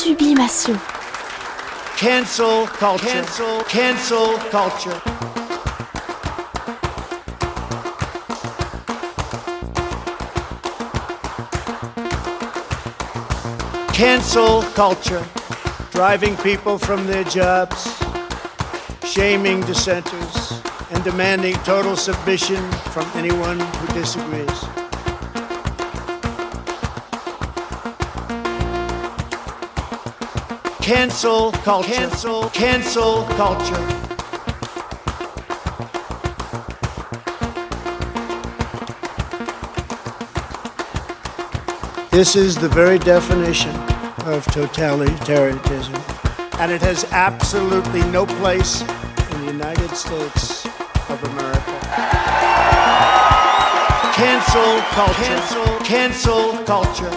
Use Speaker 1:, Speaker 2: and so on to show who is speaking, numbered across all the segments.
Speaker 1: Sublimation.
Speaker 2: Cancel culture. Cancel culture. Cancel culture. Driving people from their jobs, shaming dissenters, and demanding total submission from anyone who disagrees. Cancel culture. Cancel culture. This is the very definition of totalitarianism, and it has absolutely no place in the United States of America. Cancel culture. Cancel culture.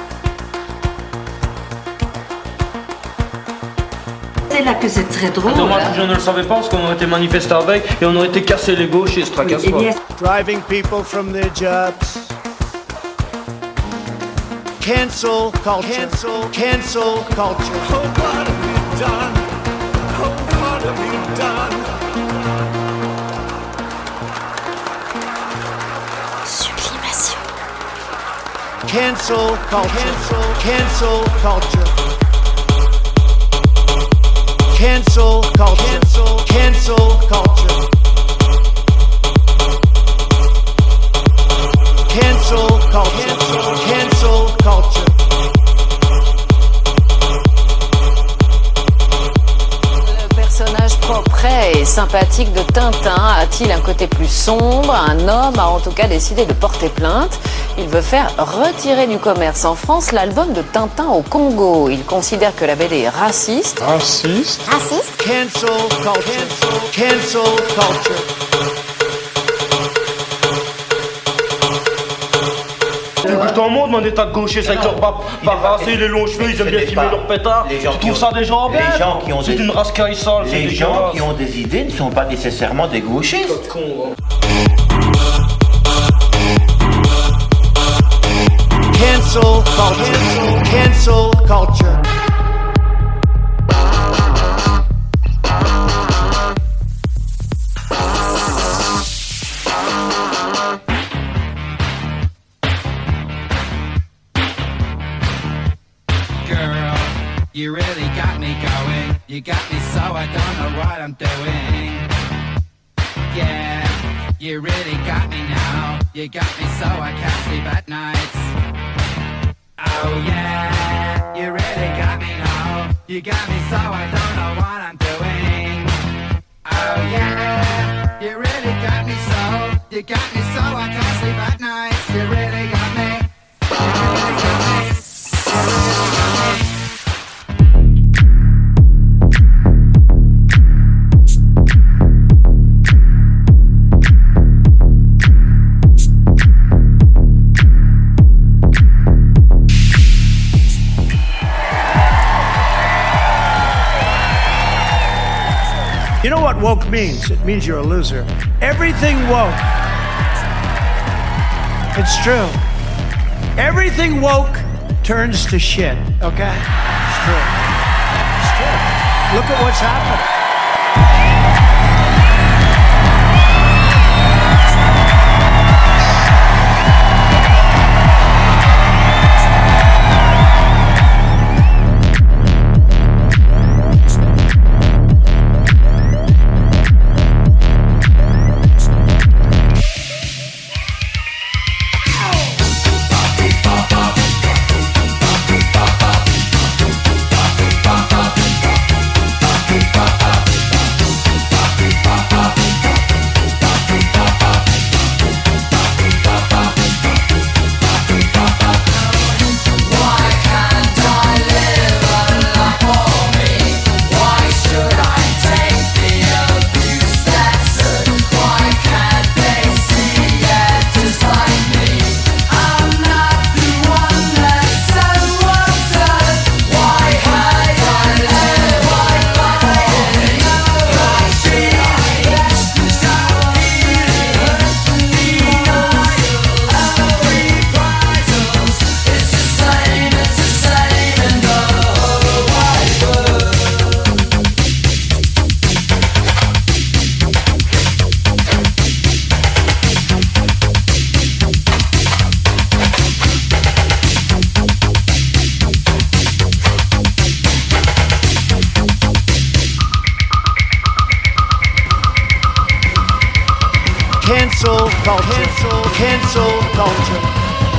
Speaker 3: C'est là que c'est très drôle.
Speaker 4: Dommage que je ne le savais pas parce qu'on aurait été manifesté avec et on aurait été cassé les gauches et se tracasse pas.
Speaker 2: Driving people from their jobs. Cancel culture. Cancel culture.
Speaker 5: Oh, what have you done? Oh, what have you done?
Speaker 1: Sublimation.
Speaker 2: Cancel culture. Cancel culture. Cancel culture. Cancel culture. Cancel culture. Cancel culture.
Speaker 6: Le personnage propre et sympathique de Tintin a-t-il un côté plus sombre? Un homme a en tout cas décidé de porter plainte. Il veut faire retirer du commerce en France l'album de Tintin au Congo. Il considère que la BD est raciste.
Speaker 1: Raciste.
Speaker 2: Cancel culture. Cancel culture.
Speaker 4: Je t'en montre mon état de gauchiste avec leurs bas rasés, les longs cheveux, ils aiment bien filmer leurs pétards. Tu trouves ça des gens bien? C'est une rascaille sale, c'est
Speaker 7: Les gens qui ont des idées ne sont pas nécessairement des gauchistes.
Speaker 2: Cancel culture. Cancel culture.
Speaker 8: Girl, you really got me going. You got me so I don't know what I'm doing. Yeah, you really got me now. You got me so I can't sleep at night. Oh yeah, you really got me now. You got me so I don't know what I'm doing. Oh yeah, you really got me so. You got me so I can't sleep at night. You really got me. You really got me. You really got me.
Speaker 2: You know what woke means? It means you're a loser. Everything woke. It's true. Everything woke turns to shit, okay? It's true. It's true. Look at what's happening.
Speaker 5: Ba
Speaker 2: culture. Cancel culture.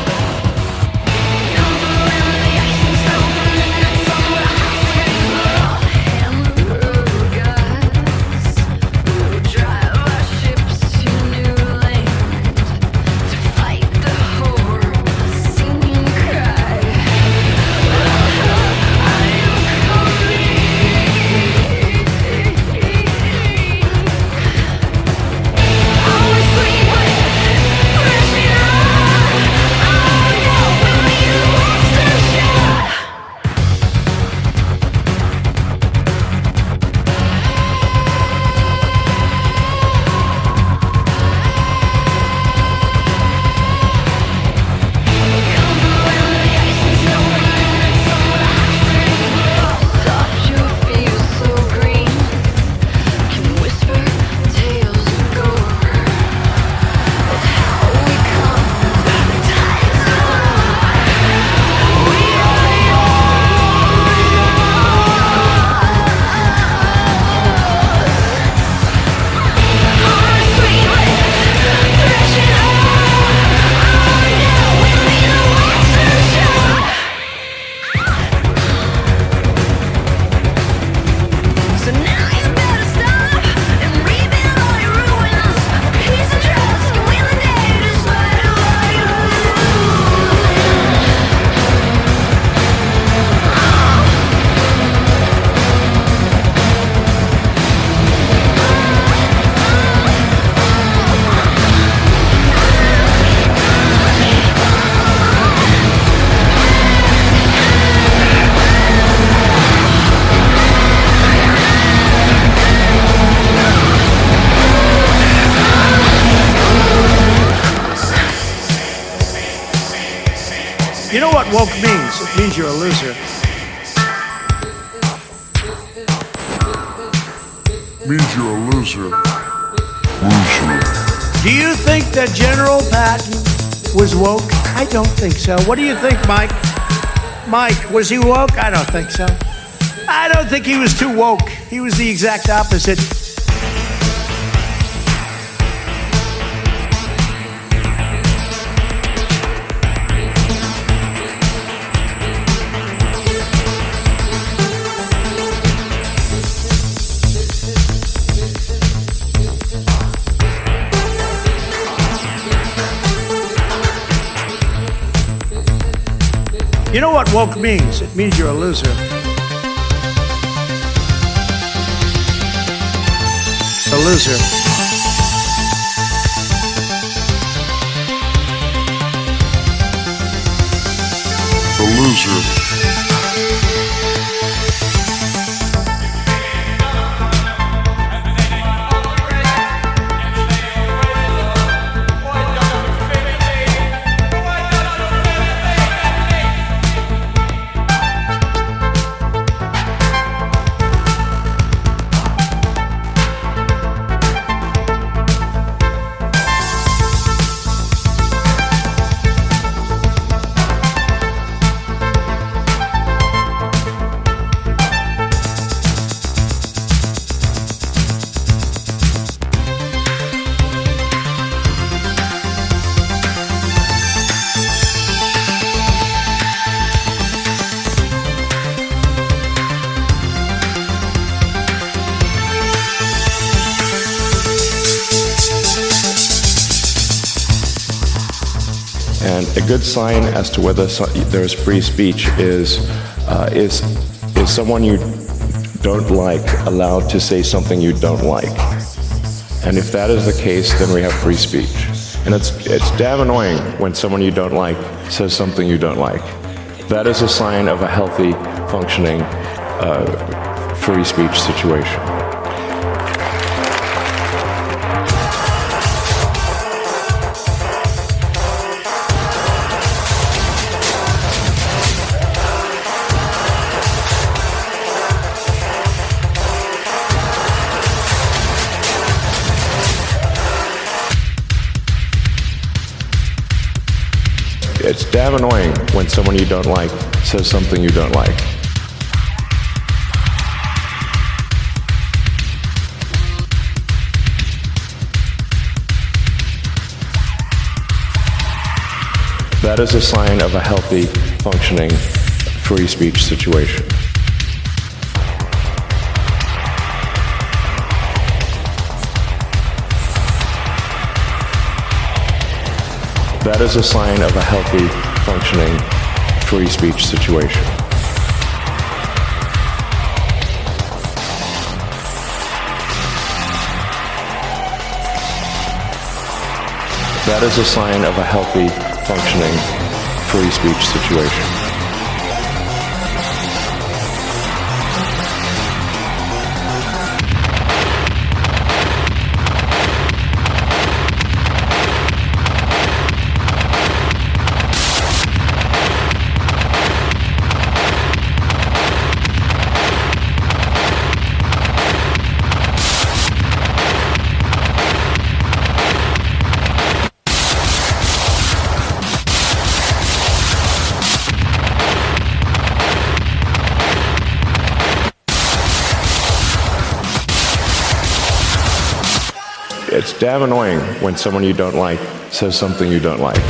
Speaker 2: You know what woke means? It means you're a loser.
Speaker 5: Means you're a loser.
Speaker 2: Do you think that General Patton was woke? I don't think so. What do you think, Mike? Mike, was he woke? I don't think so. I don't think he was too woke. He was the exact opposite. You know what woke means? It means you're a loser. A loser.
Speaker 5: A loser.
Speaker 9: And a good sign as to whether there is free speech is someone you don't like allowed to say something you don't like. And if that is the case, then we have free speech. And it's damn annoying when someone you don't like says something you don't like. That is a sign of a healthy, functioning, free speech situation. It's damn annoying when someone you don't like says something you don't like. That is a sign of a healthy, functioning, free speech situation. That is a sign of a healthy, functioning, free speech situation. That is a sign of a healthy, functioning, free speech situation. It's damn annoying when someone you don't like says something you don't like.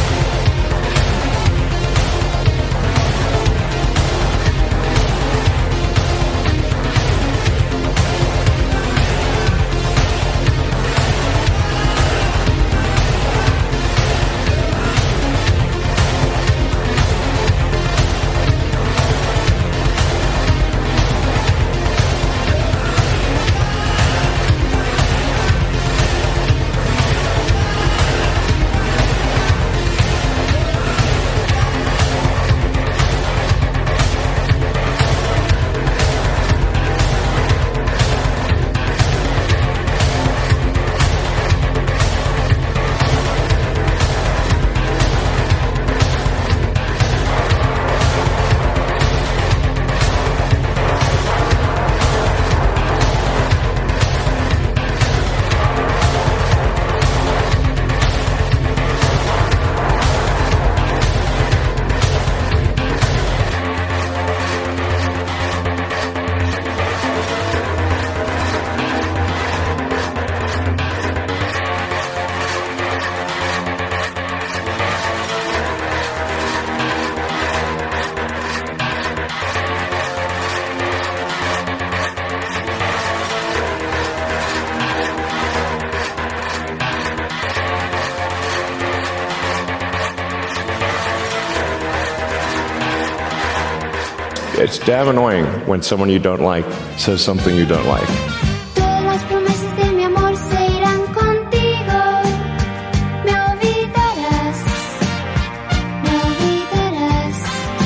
Speaker 9: It's damn annoying when someone you don't like says something you don't like.
Speaker 10: Todas las promesas de mi amor se irán contigo. Me olvidarás, me olvidarás.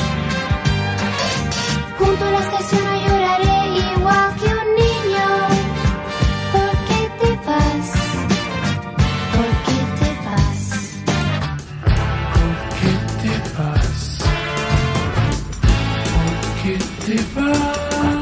Speaker 10: Junto a la estación lloraré igual que un niño. ¿Por qué te vas? ¿Por qué te vas?
Speaker 5: ¿Por qué te vas? ¿Por qué te vas?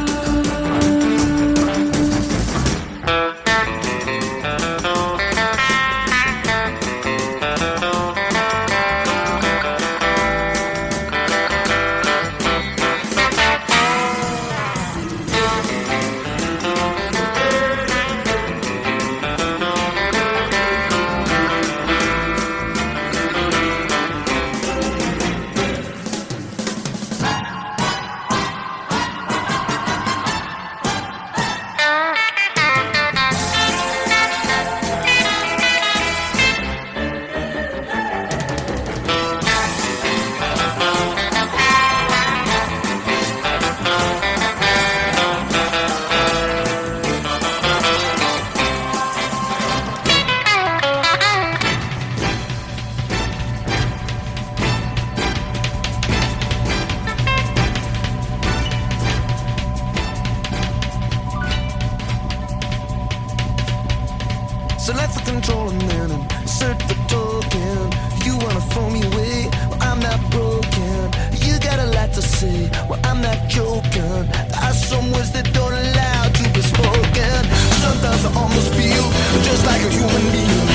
Speaker 11: Select for control and then insert the token. You wanna throw me away? Well, I'm not broken. You got a lot to say. Well, I'm not joking. There are some words that don't allow to be spoken. Sometimes I almost feel just like a human being.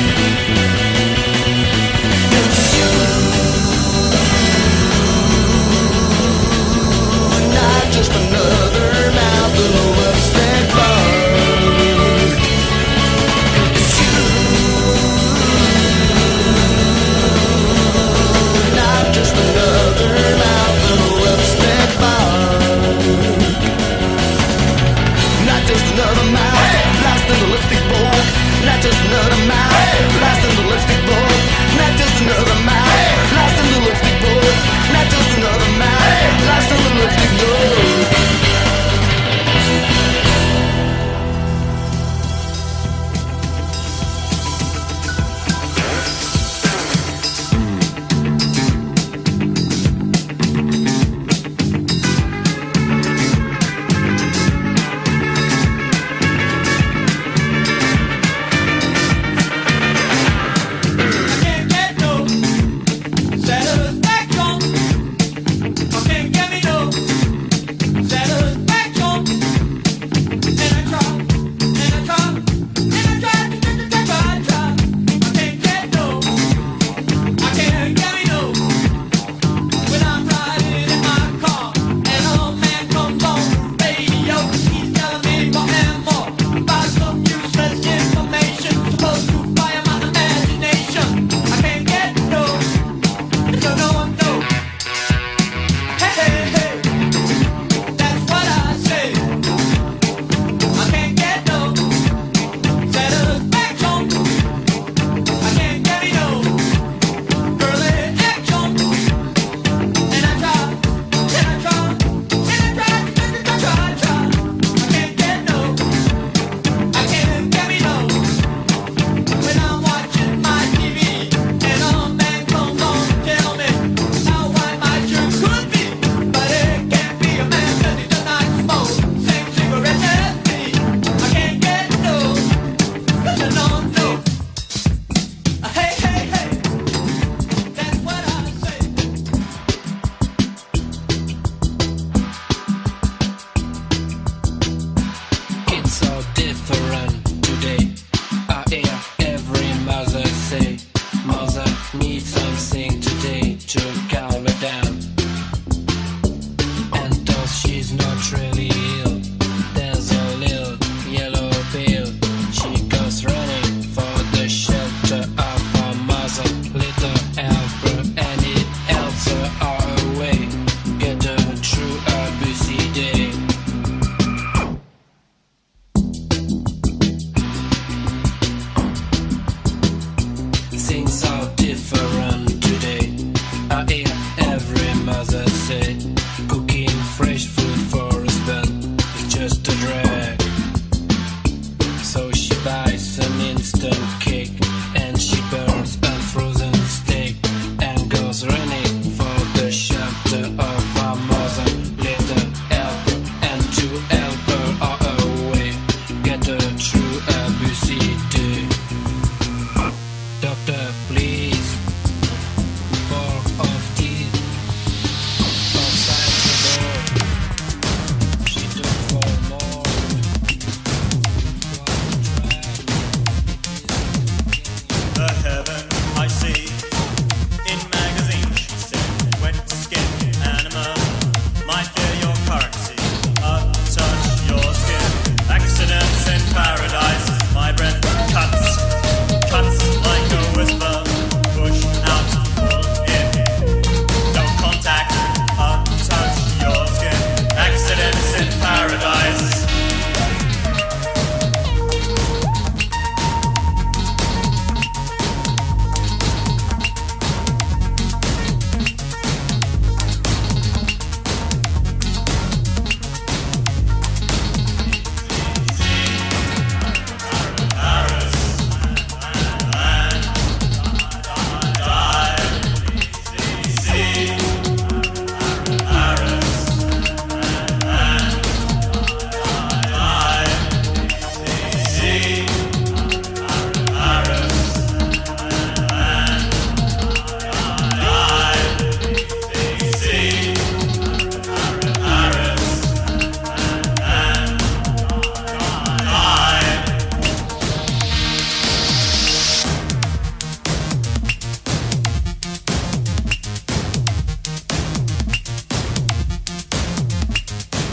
Speaker 11: It's you, not just another mouth of lips that burn.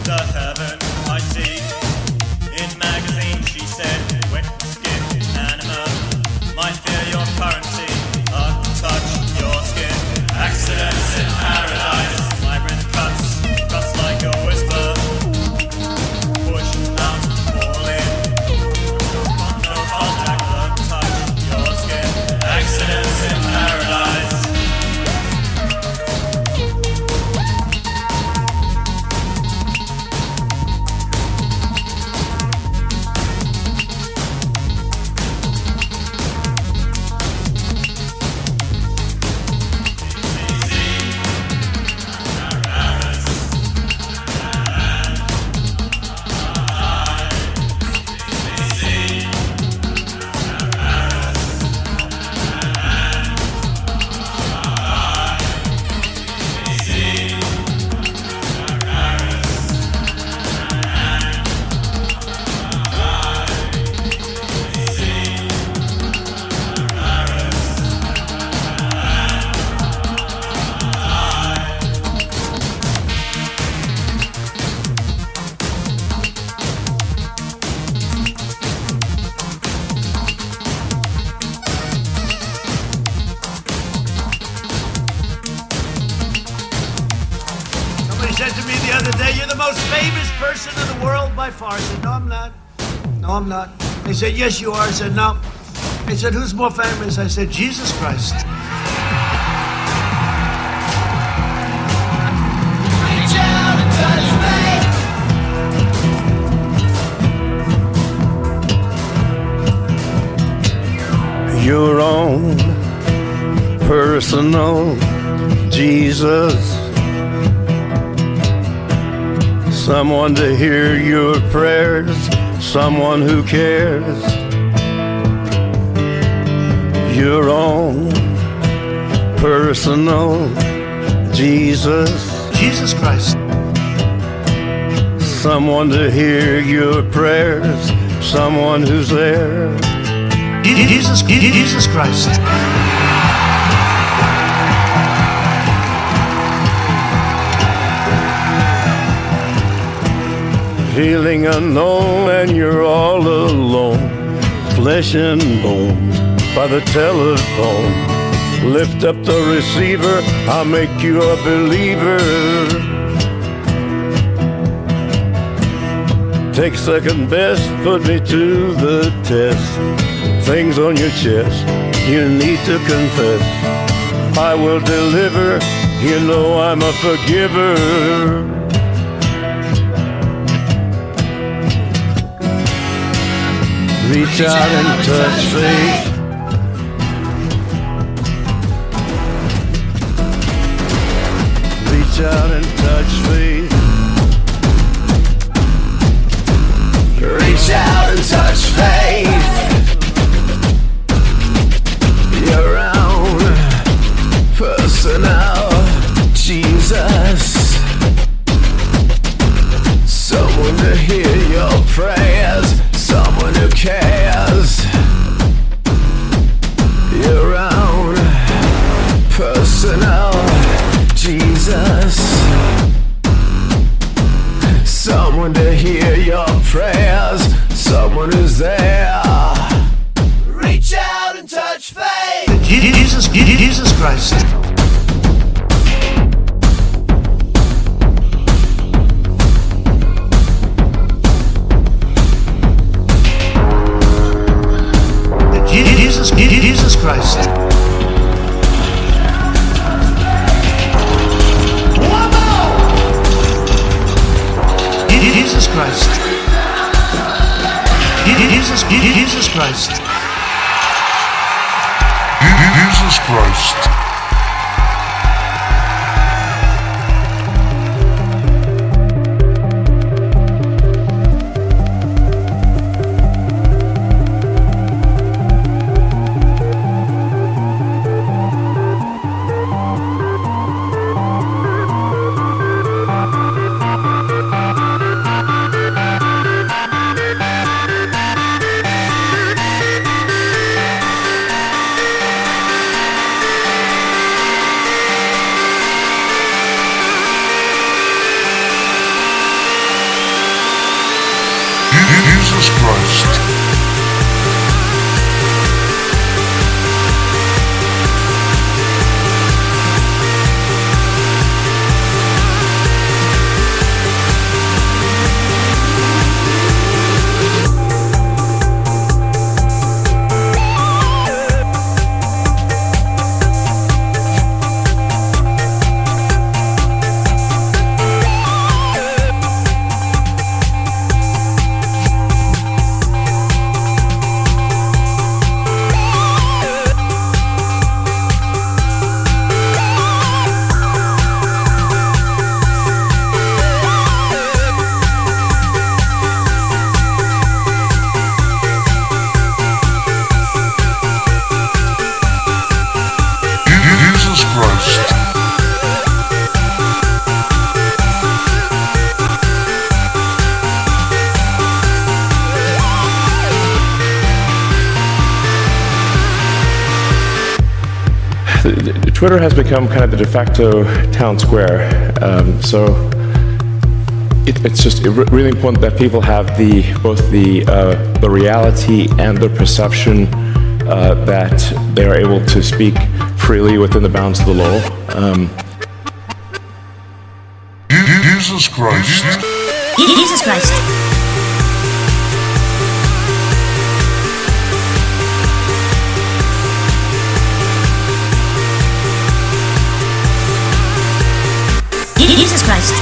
Speaker 5: the heaven I see. In magazines she said, wet skin anima might fear your currency, but touch your skin. Accidents in paradise, vibrant cuts like a whisper. Push out, fall in. No contact, but touch your skin. Accidents in paradise.
Speaker 2: Somebody said to me the other day, "You're the most famous person in the world by far." I said, "No, I'm not. No, I'm not." They said, "Yes, you are." I said, "No." They said, "Who's more famous?" I said, "Jesus Christ."
Speaker 11: Reach out and touch me.
Speaker 12: Your own personal Jesus, someone to hear your prayers, someone who cares. Your own personal Jesus,
Speaker 2: Jesus Christ.
Speaker 12: someone to hear your prayers, someone who's there.
Speaker 2: Jesus Christ.
Speaker 12: Feeling unknown and you're all alone, flesh and bone by the telephone. Lift up the receiver, I'll make you a believer. Take second best, put me to the test. Things on your chest, you need to confess. I will deliver, you know I'm a forgiver. Reach out and touch faith. Reach out and touch faith.
Speaker 11: Reach out and touch faith. Your own personal Jesus, someone to hear your prayers, someone who cares. Your own personal Jesus, someone to hear your prayers, someone who's there. Reach out and touch faith.
Speaker 2: Jesus Christ. Jesus Christ. Jesus Christ. Jesus Christ.
Speaker 13: Jesus Christ. Christ.
Speaker 9: Twitter has become kind of the de facto town square. It's really important that people have both the reality and the perception that they are able to speak freely within the bounds of the law.
Speaker 13: Jesus Christ.
Speaker 1: Jesus Christ. Jesus Christ.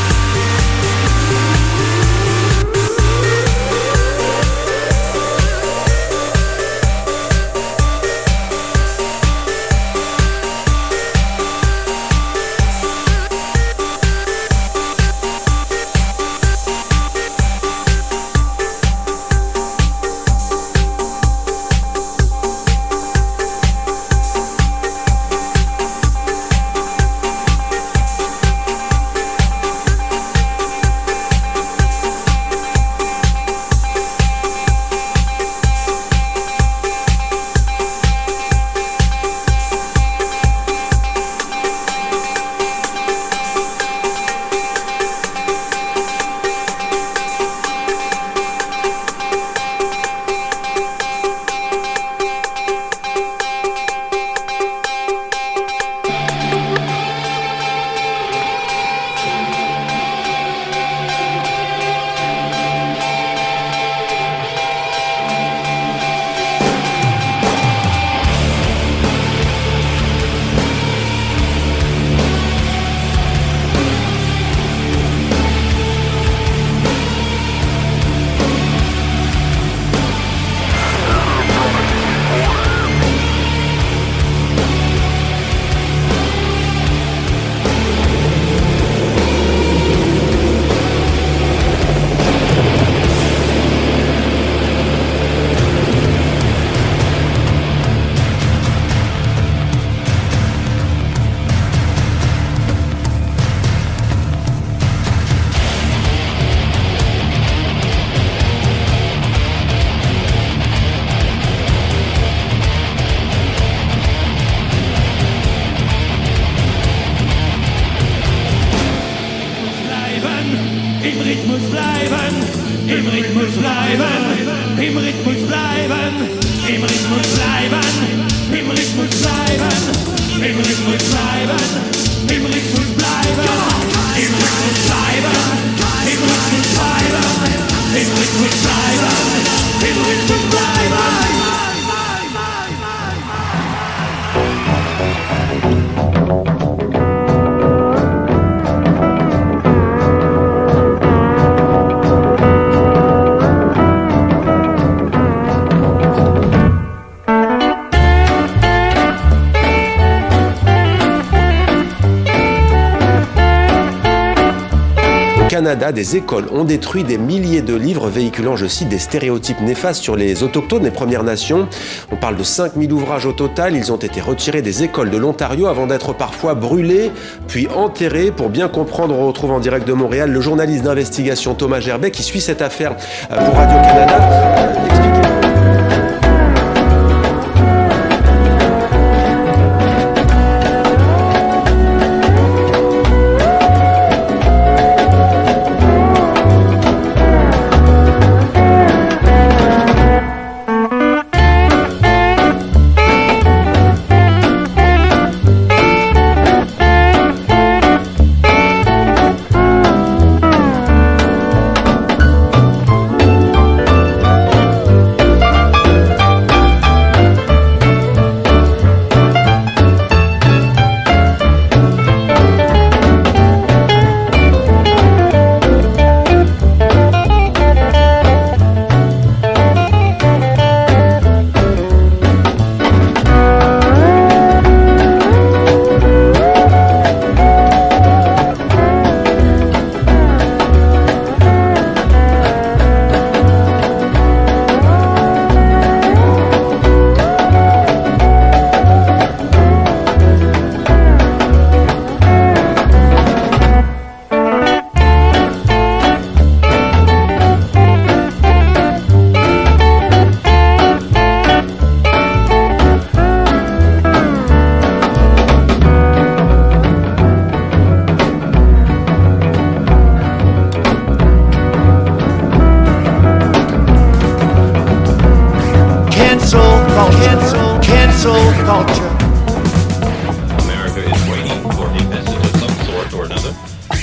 Speaker 14: Canada, des écoles ont détruit des milliers de livres véhiculant, je cite, des stéréotypes néfastes sur les autochtones, les Premières Nations. On parle de 5000 ouvrages au total. Ils ont été retirés des écoles de l'Ontario avant d'être parfois brûlés, puis enterrés. Pour bien comprendre, on retrouve en direct de Montréal le journaliste d'investigation Thomas Gerbet qui suit cette affaire pour Radio-Canada.
Speaker 2: culture.
Speaker 15: America is waiting for a message of some sort or another.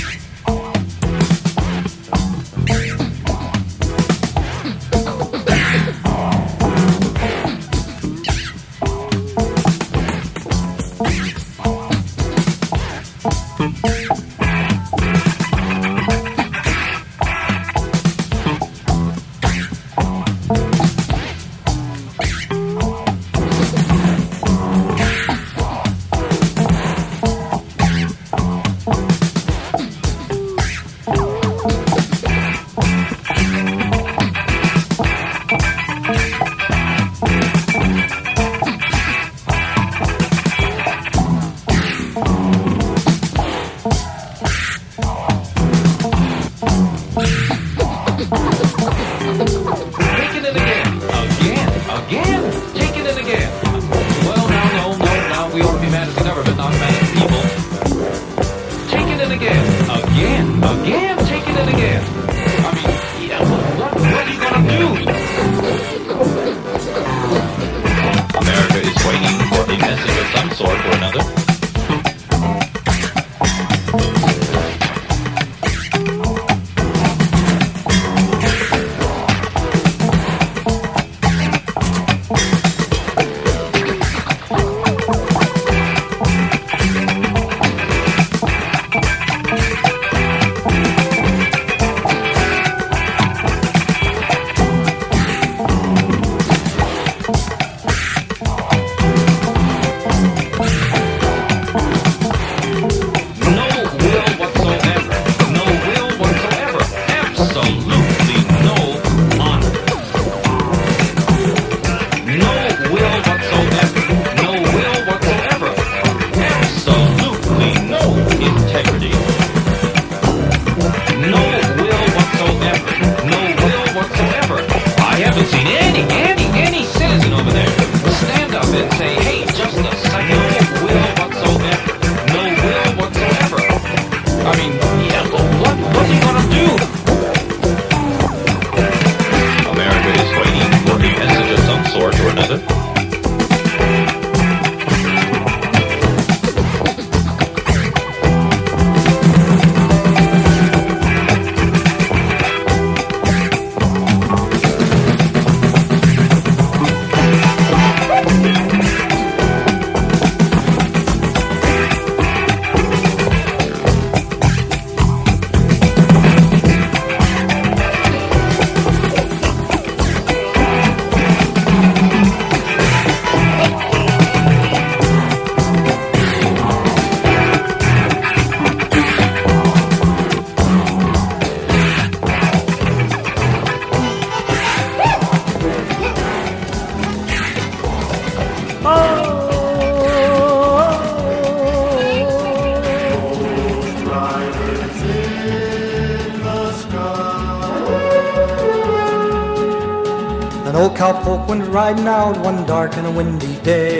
Speaker 16: Cowpoke went riding out one dark and a windy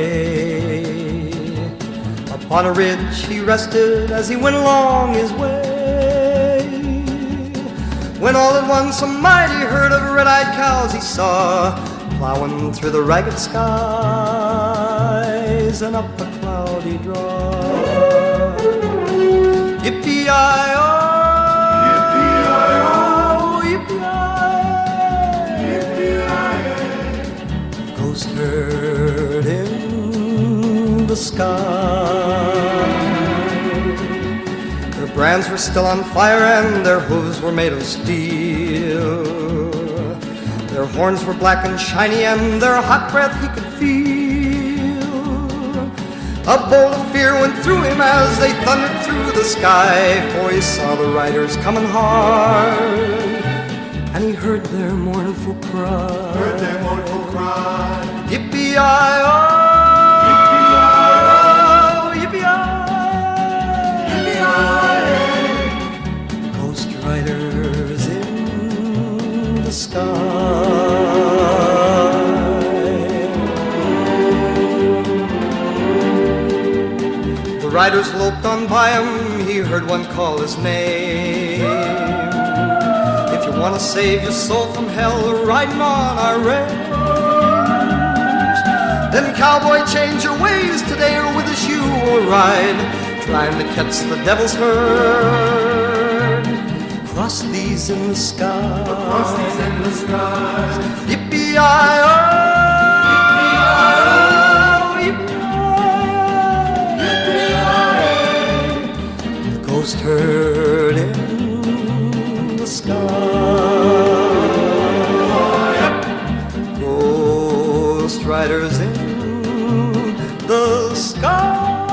Speaker 16: day. Upon a ridge he rested as he went along his way. When all at once a mighty herd of red-eyed cows he saw, plowing through the ragged skies and up a cloudy draw. Yippee-yi-oh! Herd in the sky. Their brands were still on fire and their hooves were made of steel. Their horns were black and shiny and their hot breath he could feel. A bolt of fear went through him as they thundered through the sky, for he saw the riders coming hard and he heard their mournful cry. Yippee-yi-oh, yippee-yi-oh, yippee-yi-oh. Ghost riders in the sky. The riders loped on by him, he heard one call his name. If you want to save your soul from hell, riding on our range, Then cowboy, change your ways today, or with us you will ride, trying to catch the devil's herd. Cross these in the sky. Cross these in the skies. Yippee-yi-oh, yippee-yi-oh, the ghost herd in the sky. Ghost riders in the sky.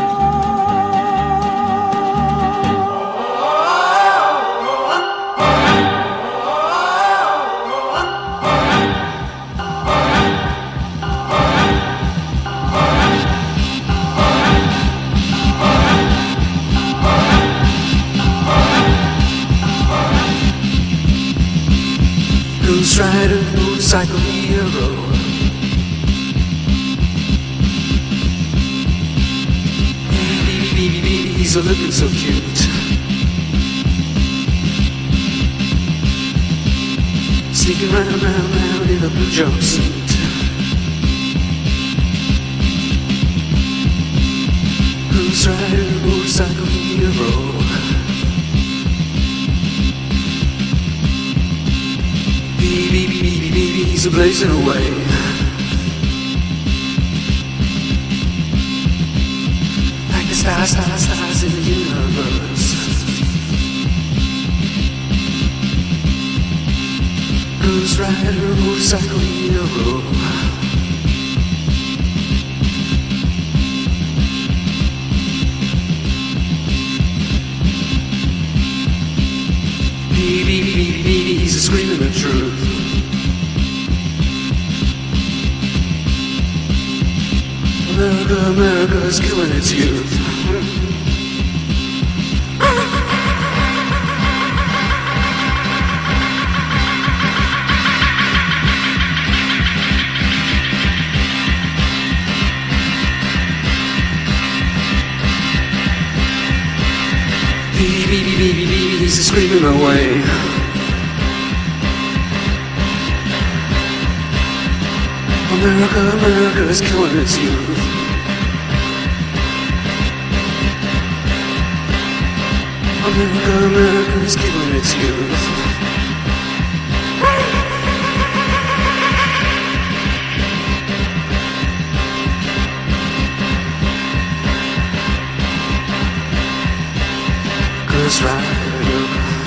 Speaker 16: Ghost rider, motorcycle hero. He's a looking so cute. Sneaking round in a blue jumpsuit. Ghost rider, motorcycle hero. Baby, he's a blazing away. Like the stars in the universe. Ghost rider, motorcycle hero. Baby, he's a screaming the truth. America is killing its youth. Baby, he's screaming away. America is killing its youth. America is killing its youth. Ghost rider.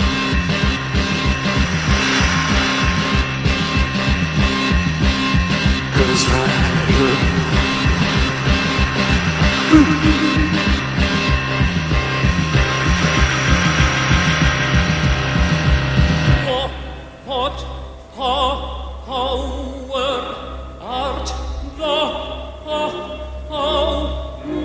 Speaker 16: Ghost rider.
Speaker 17: What power art thou who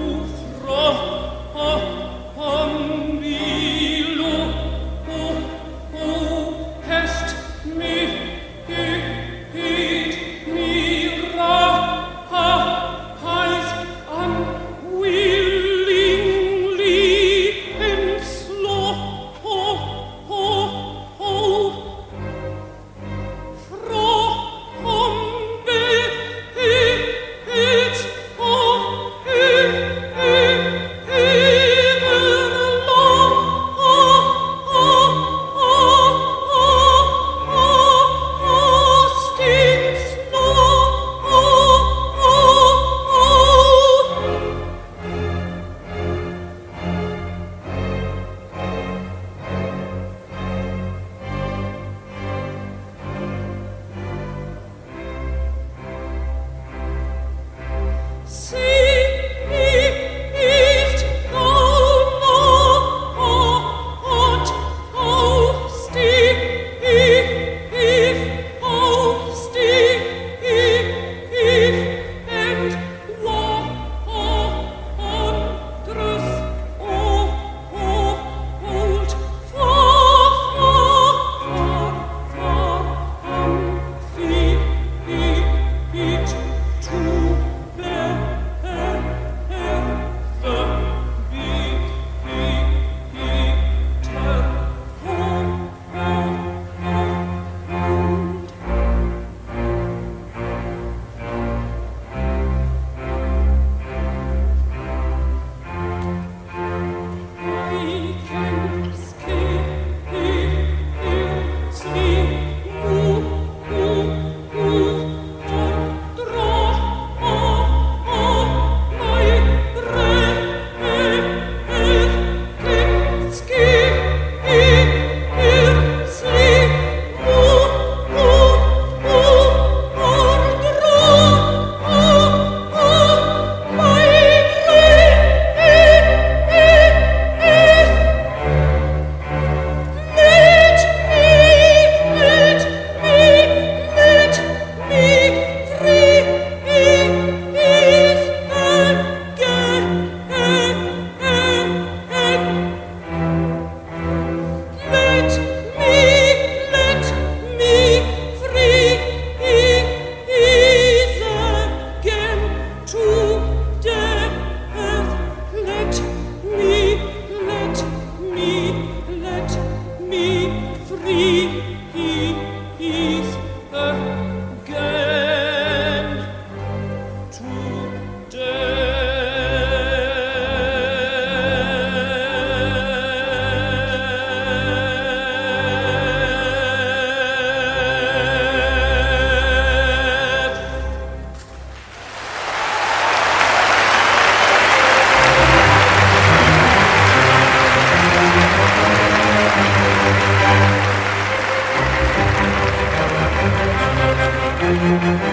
Speaker 17: from below, who hast made me rise unwillingly and slow. From the pit of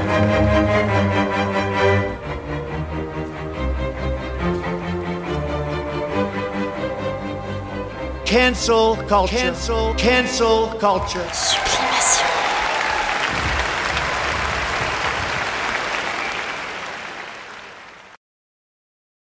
Speaker 2: Cancel culture. Cancel culture.
Speaker 1: Sublimation.